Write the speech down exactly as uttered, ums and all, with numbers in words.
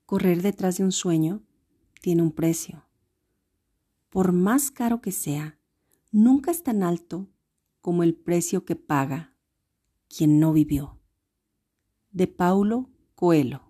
Correr detrás de un sueño tiene un precio. Por más caro que sea, nunca es tan alto como el precio que paga quien no vivió. De Paulo Coelho.